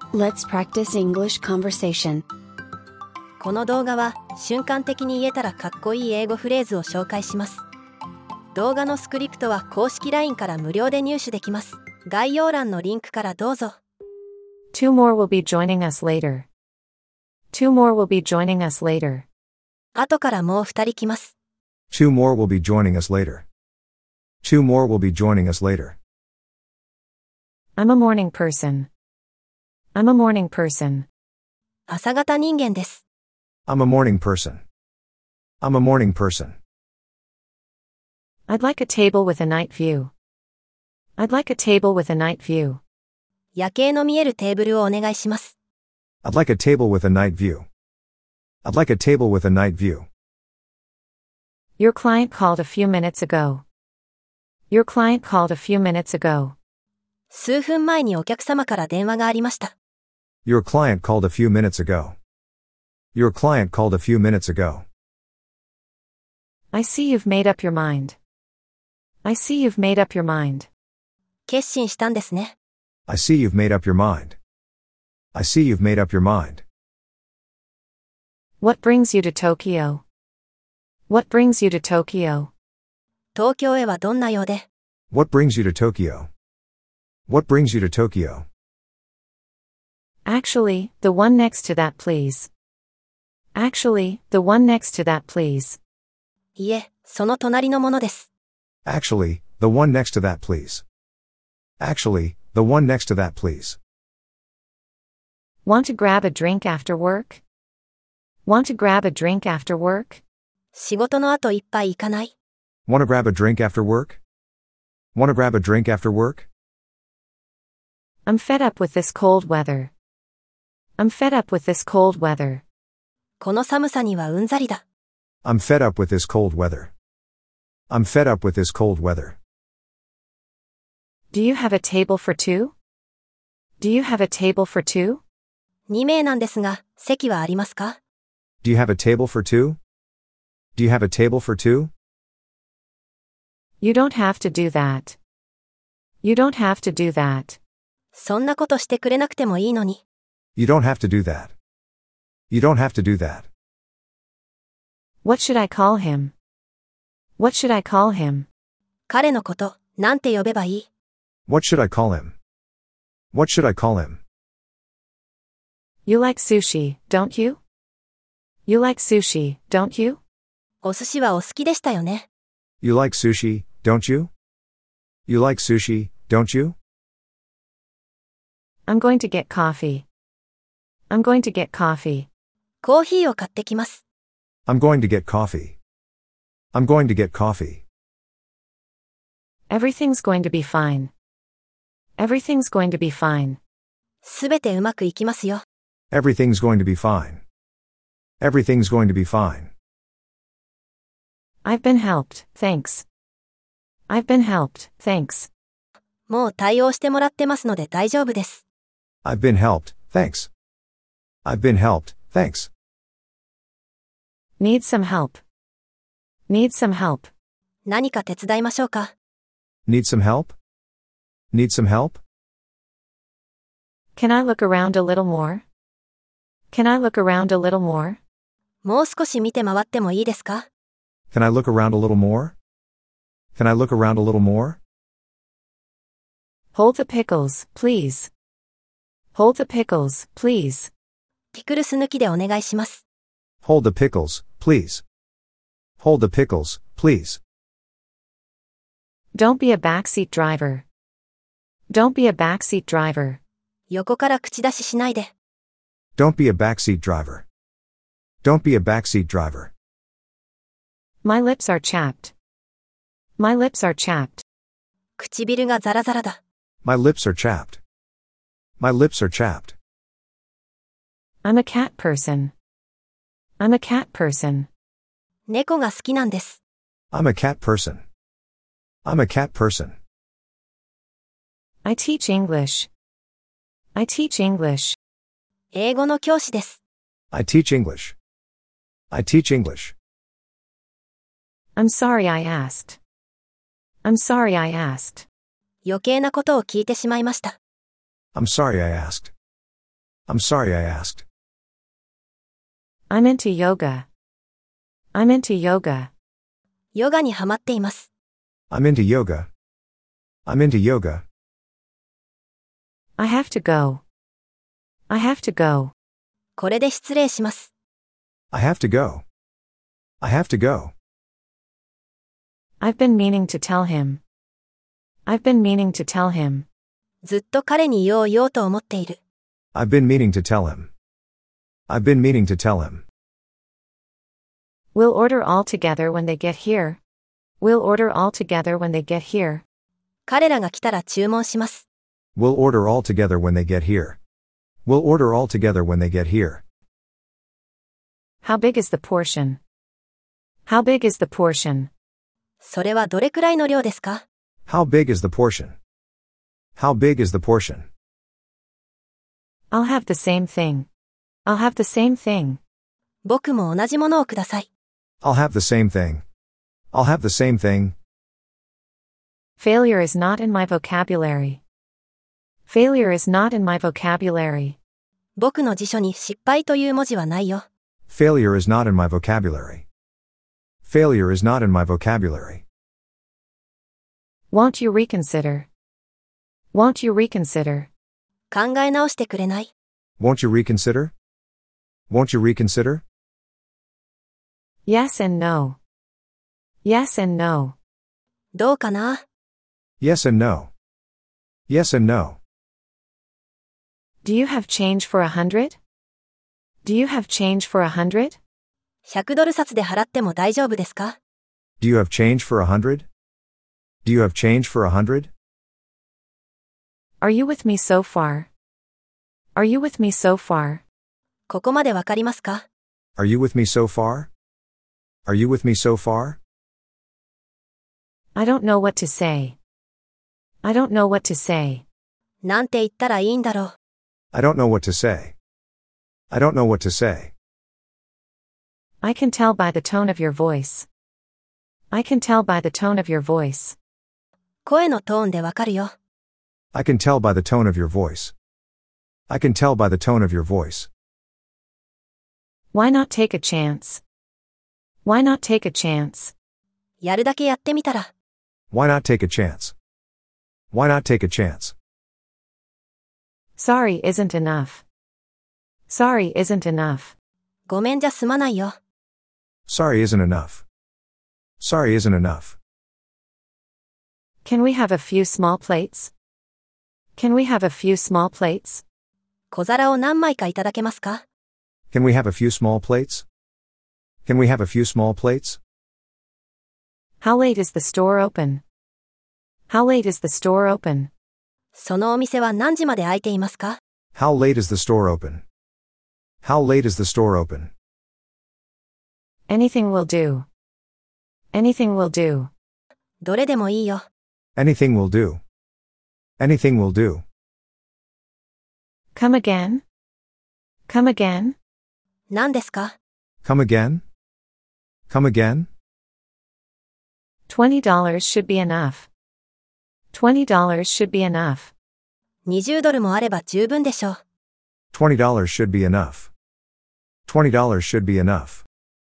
Let's practice English conversation. この動画は瞬間的に言えたらかっこいい英語フレーズを紹介します。動画のスクリプトは公式 LINE から無料で入手できます。概要欄のリンクからどうぞ。 Two more will be joining us later. Two more will be joining us later. 後からもう2人来ます。 Two more will be joining us later. Two more will be joining us later. I'm a morning person. I'm a morning person. 朝型人間です。 I'm a morning person. I'm a morning person. I'd like a table with a night view. I'd like a table with a night view. 夜景の見えるテーブルをお願いします。 I'd like a table with a night view. I'd like a table with a night view. Your client called a few minutes ago. Your client called a few minutes ago. 数分前にお客様から電話がありました。 Your client called a few minutes ago. Your client called a few minutes ago. I see you've made up your mind. I see you've made up your mind. 決心したんですね。 I see you've made up your mind. I see you've made up your mind. What brings you to Tokyo? What brings you to Tokyo? 東京へはどんな用で？ What brings you to Tokyo? What brings you to Tokyo? Actually, the one next to that please. Actually, the one next to that please. いえ、その隣のものです。 Actually, the one next to that please. Actually, the one next to that please. Want to grab a drink after work? Want to grab a drink after work? 仕事の後一杯行かない？ Wanna grab a drink after work? Wanna grab a drink after work? I'm fed up with this cold weather. I'm fed up with this cold weather. この寒さにはうんざりだ。 I'm fed up with this cold weather. I'm fed up with this cold weather. Do you have a table for two? Do you have a table for two? 2名なんですが、席はありますか？ Do you have a table for two? Do you have a table for two? You don't have to do that. You don't have to do that. そんなことしてくれなくてもいいのに。 You don't have to do that. You don't have to do that. What should I call him? What should I call him? 彼のこと、なんて呼べばいい？ What should I call him? What should I call him? You like sushi, don't you? You like sushi, don't you? お寿司はお好きでしたよね。 You like sushi, don't you? You like sushi, don't you? I'm going to get coffee. I'm going to get coffee. コーヒーを買ってきます。 I'm going to get coffee. I'm going to get coffee. Everything's going to be fine. Everything's going to be fine. すべてうまくいきますよ。 Everything's going to be fine. Everything's going to be fine. I've been helped, thanks. I've been helped, thanks. もう対応してもらってますので大丈夫です。 I've been helped, thanks. I've been helped, thanks. Need some help. Need some help. 何か手伝いましょうか？ Need some help? Need some help? Can I look around a little more? Can I look around a little more? もう少し見て回ってもいいですか？ Can I look around a little more? Can I look around a little more? Hold the pickles, please. Hold the pickles, please. ピクルス抜きでお願いします。 Hold the pickles, please. Hold the pickles, please. Don't be a backseat driver. Don't be a backseat driver. 横から口出ししないで。 Don't be a backseat driver. Don't be a backseat driver. My lips are chapped. My lips are chapped. 唇がザラザラだ。 My lips are chapped. My lips are chapped. I'm a cat person. I'm a cat person. 猫が好きなんです。 I'm a cat person. I'm a cat person. I teach English. I teach English. 英語の教師です。 I teach English. I teach English. I'm sorry I asked. I'm sorry I asked. 余計なことを聞いてしまいました。 I'm sorry I asked. I'm sorry I asked. I'm into yoga. I'm into yoga. ヨガにハマっています。 I'm into yoga. I'm into yoga. I have to go. I have to go. これで失礼します。 I have to go. I have to go. I've been meaning to tell him. I've been meaning to tell him. ずっと彼に言おうと思っている。 I've been meaning to tell him. I've been meaning to tell him. We'll order all together when they get here. We'll order all together when they get here. 彼らが来たら注文します。 We'll order all together when they get here. We'll order all together when they get here. How big is the portion? How big is the portion? それはどれくらいの量ですか？ How big is the portion? How big is the portion? I'll have the same thing. I'll have the same thing. 僕も同じものをください。 I'll have the same thing. I'll have the same thing. Failure is not in my vocabulary. Failure is not in my vocabulary. 僕の辞書に失敗という文字はないよ。 Failure is not in my vocabulary. Failure is not in my vocabulary. Won't you reconsider? Won't you reconsider? 考え直してくれない？ Won't you reconsider? Won't you reconsider? Yes and no. Yes and no. どうかな？ Yes and no. Yes and no. Do you have change for 100? Do you have change for 100? 100ドル札で払っても大丈夫ですか？ Do you have change for 100? Do you have change for 100? Are you with me so far? Are you with me so far? ここまでわかりますか？ Are you with me so far? Are you with me so far? I don't know what to say. I don't know what to say. なんて言ったらいいんだろう。 I don't know what to say. I don't know what to say. I can tell by the tone of your voice. I can tell by the tone of your voice. 声のトーンでわかるよ。 I can tell by the tone of your voice. I can tell by the tone of your voice. Why not take a chance? Why not take a chance? やるだけやってみたら。 Why not take a chance? Why not take a chance? Sorry isn't enough. Sorry isn't enough. ごめんじゃ済まないよ。 Sorry isn't enough. Sorry isn't enough. Can we have a few small plates? Can we have a few small plates? 小皿を何枚かいただけますか？ Can we have a few small plates? Can we have a few small plates? How late is the store open? How late is the store open? そのお店は何時まで開いていますか？ How late is the store open? How late is the store open? Anything will do. Anything will do. どれでもいいよ。 Anything will do. Anything will do. Come again? Come again? 何ですか？ Come again? Come again? $20 should be enough. $20 should be enough. 20ドルもあれば十分でしょう。 $20 should be enough. $20 should be enough.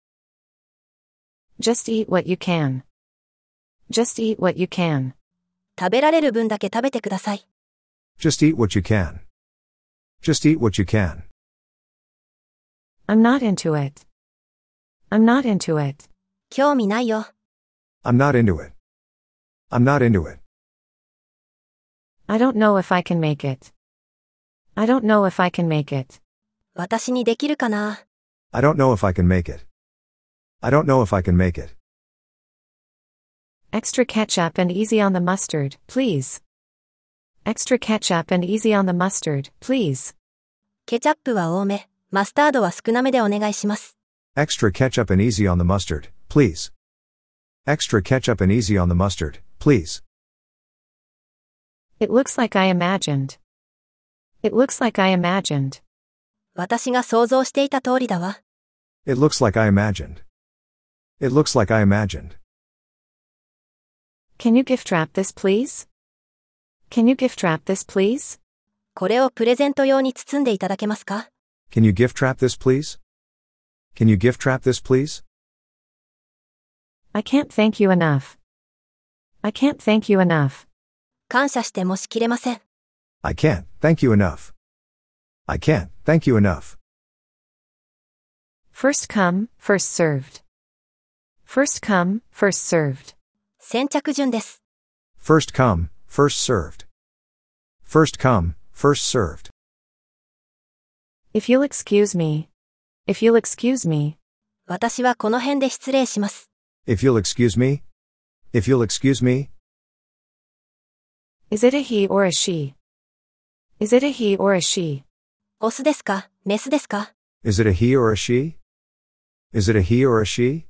Just eat what you can. Just eat what you can. 食べられる分だけ食べてください。 Just eat what you can. Just eat what you can. I'm not into it. I'm not into it. 興味ないよ。 I'm not into it. I'm not into it. I don't know if I can make it. I don't know if I can make it. 私にできるかな？ I don't know if I can make it. I don't know if I can make it. Extra ketchup and easy on the mustard, please. Extra ketchup and easy on the mustard, please. ケチャップは多め、マスタードは少なめでお願いします。 Extra ketchup and easy on the mustard, please. Extra ketchup and easy on the mustard, please. It looks like I imagined. It looks like I imagined. 私が想像していた通りだわ。 It looks like I imagined. It looks like I imagined. Can you gift wrap this, please? Can you gift wrap this, please? これをプレゼント用に包んでいただけますか？ Can you gift wrap this, please? Can you gift wrap this, please? I can't thank you enough. I can't thank you enough. 感謝してもしきれません。 I can't, thank you enough. I can't, thank you enough. First come, first served. First come, first served. 先着順です。 First come, first served. First come, first served. If you'll excuse me. If you'll excuse me. 私はこの辺で失礼します。 If you'll excuse me. If you'll excuse me. Is it a he or a she? Is it a he or a she? オスですか？メスですか？ Is it a he or a she? Is it a he or a she?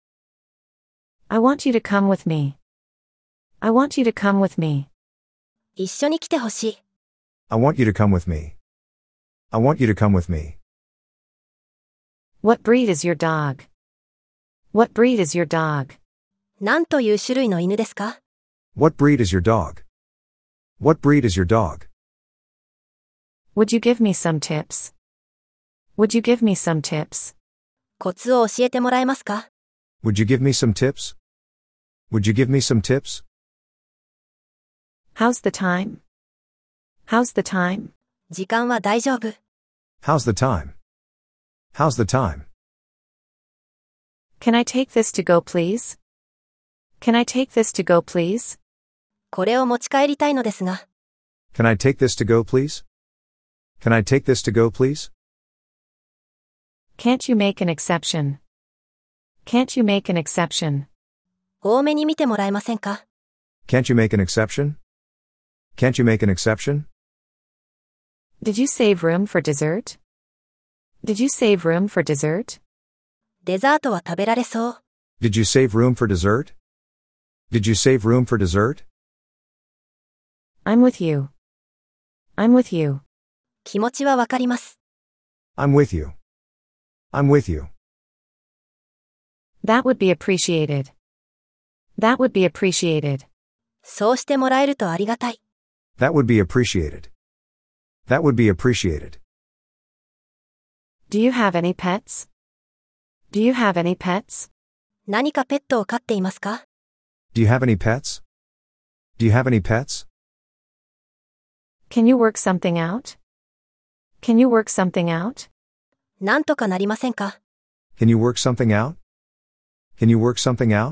I want you to come with me. I want you to come with me. 一緒に来てほしい。 I want you to come with me. I want you to come with me. What breed is your dog? What breed is your dog? 何という種類の犬ですか？ What breed is your dog? What breed is your dog? Would you give me some tips? Would you give me some tips? コツを教えてもらえますか？ Would you give me some tips? Would you give me some tips? How's the time? How's the time? 時間は大丈夫。 How's the time? How's the time? Can I take this to go, please? Can I take this to go, please? これを持ち帰りたいのですが。 Can I take this to go, please? Can I take this to go, please? Can't you make an exception? Can't you make an exception? 多めに見てもらえませんか？ Can't you make an exception? Can't you make an exception? Did you save room for dessert? Did you save room for dessert? デザートは食べられそう。 Did you save room for dessert? Did you save room for dessert? I'm with you. I'm with you. 気持ちはわかります。 I'm with you. I'm with you. That would be appreciated. That would be appreciated. そうしてもらえるとありがたい。 That would be appreciated. That would be appreciated. Do you have any pets? Do you have any pets? 何かペットを飼っていますか？ Do you have any pets? Do you have any pets? Can you work something out? Can you work something out? なんとかなりませんか？ Can you work something out? Can you work something out?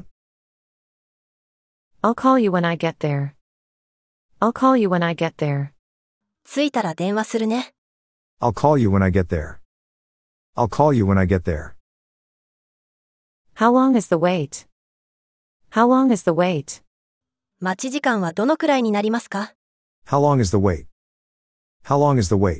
I'll call you when I get there. I'll call you when I get there. 着いたら電話するね。 I'll call you when I get there. I'll call you when I get there. How long is the wait? How long is the wait? 待ち時間はどのくらいになりますか？ How long is the wait? How long is the wait?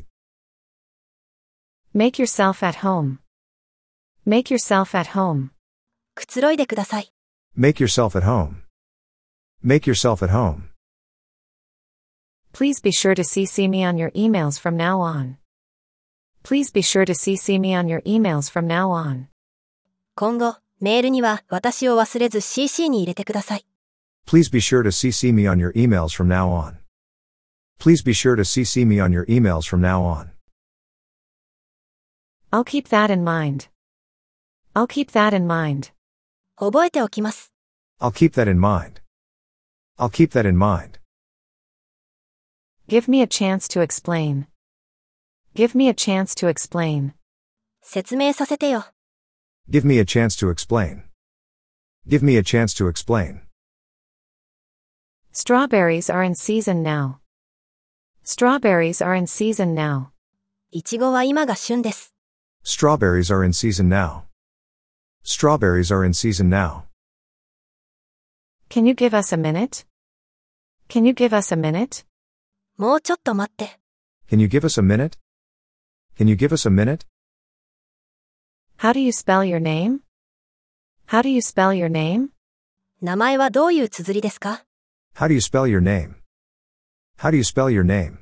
Make yourself at home. Make yourself at home. くつろいでください。 Make yourself at home. Make yourself at home. Please be sure to CC me on your emails from now on. Please be sure to CC me on your emails from now on. 今後、メールには私を忘れず CC に入れてください。 Please be sure to CC me on your emails from now on. Please be sure to CC me on your emails from now on. I'll keep that in mind. I'll keep that in mind. 覚えておきます。 I'll keep that in mind. I'll keep that in mind. Give me a chance to explain. Give me a chance to explain. 説明させてよ。 Give me a chance to explain. Give me a chance to explain. Strawberries are in season now. Strawberries are in season now. いちごは今が旬です。 Strawberries are in season now. Strawberries are in season now. Can you give us a minute? Can you give us a minute? もうちょっと待って。 Can you give us a minute? Can you give us a minute? How do you spell your name? How do you spell your name? 名前はどういう綴りですか？ How do you spell your name? How do you spell your name?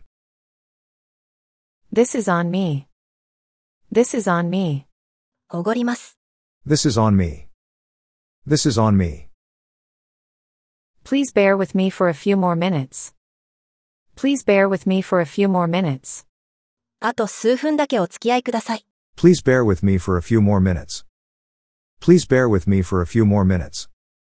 This is on me. This is on me. おごります。 This is on me. This is on me. Please bear with me for a few more minutes. Please bear with me for a few more minutes. あと数分だけお付き合いください。 Please bear with me for a few more minutes. Please bear with me for a few more minutes.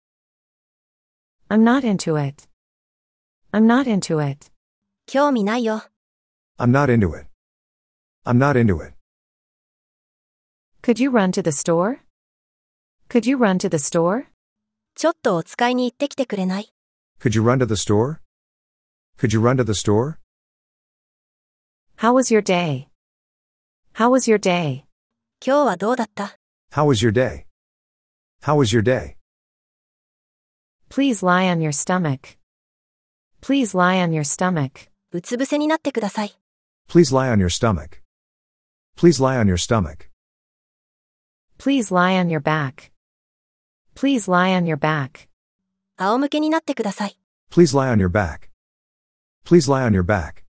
I'm not into it. I'm not into it. 興味ないよ。 I'm not into it. I'm not into it. Could you run to the store? Could you run to the store? ちょっとお使いに行ってきてくれない？ Could you run to the store? Could you run to the store? How was your day? How was your day? 今日はどうだった？ How was your day? How was your day? Please lie on your stomach. Please lie on your stomach. うつ伏せになってください。 Please lie on your stomach. Please lie on your stomach. Please lie on your back. Please lie on your back. 仰向けになってください。 Please lie on your back. Please lie on your back.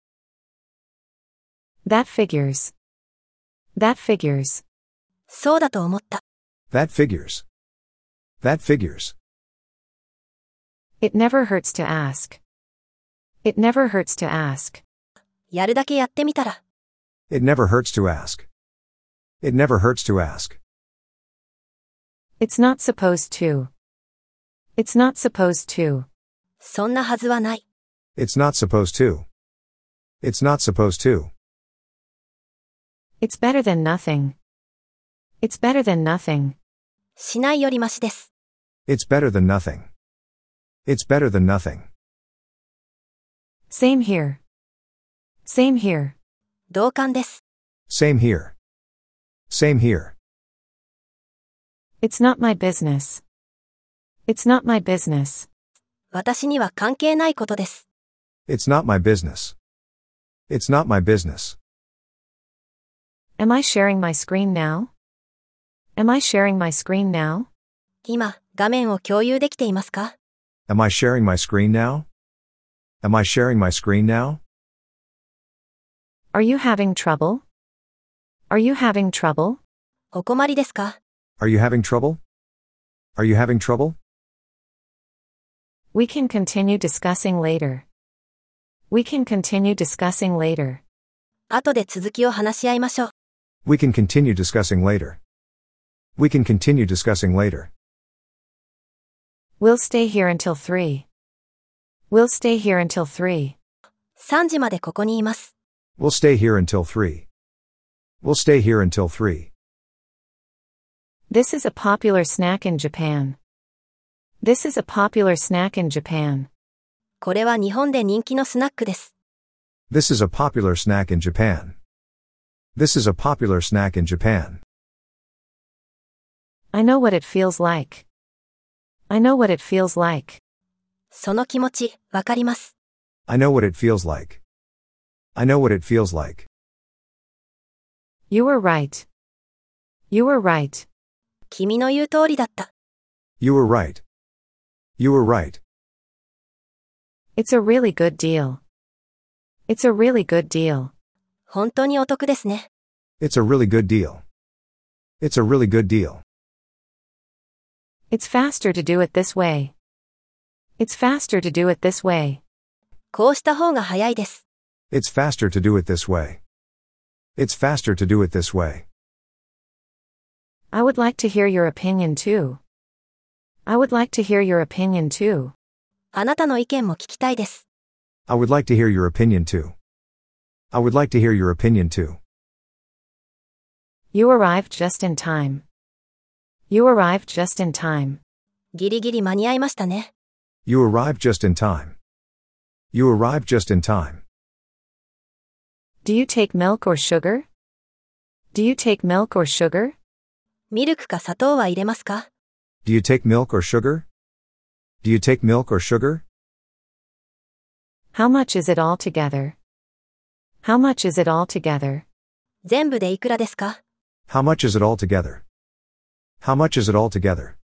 That figures. That figures. そうだと思った。 That figures. That figures. It never hurts to ask. It never hurts to ask. やるだけやってみたら。 It never hurts to ask. It never hurts to ask. It's not supposed to. It's not supposed to. そんなはずはない。 It's not supposed to. It's not supposed to. It's better than nothing. It's better than nothing. しないよりマシです。 It's better than nothing. It's better than nothing. Same here. Same here. 同感です。 Same here. Same here. It's not my business. It's not my business. 私には関係ないことです。 It's not my business. It's not my business. Am I sharing my screen now? Am I sharing my screen now? 今、画面を共有できていますか？ Am I sharing my screen now? Am I sharing my screen now? Are you having trouble? Are you having trouble? お困りですか？ Are you having trouble? Are you having trouble? We can continue discussing later. We can continue discussing later. 後で続きを話し合いましょう。 We can continue discussing later. We can continue discussing later. We'll stay here until 3. We'll stay here until 3. 3時までここにいます。 We'll stay here until 3. We'll stay here until 3. This is a popular snack in Japan. This is a popular snack in Japan. これは日本で人気のスナックです。 This is a popular snack in Japan. This is a popular snack in Japan. I know what it feels like. I know what it feels like. その気持ち、わかります。 I know what it feels like. I know what it feels like. You were right. You were right. 君の言う通りだった。 You were right. You were right. It's a really good deal. It's a really good deal. 本当にお得ですね。 It's a really good deal. It's a really good deal. It's faster to do it this way. It's faster to do it this way. こうした方が早いです。 It's faster to do it this way. It's faster to do it this way. I would like to hear your opinion too. I would like to hear your opinion too. あなたの意見も聞きたいです。 I would like to hear your opinion too. I would like to hear your opinion too. You arrived just in time. You arrived just in time. ギリギリ間に合いましたね。 You arrived just in time. You arrived just in time. Do you take milk or sugar? Do you take milk or sugar? ミルクか砂糖は入れますか？ Do you take milk or sugar? Do you take milk or sugar? How much is it all together? How much is it all together? 全部でいくらですか？ How much is it all together? How much is it all together?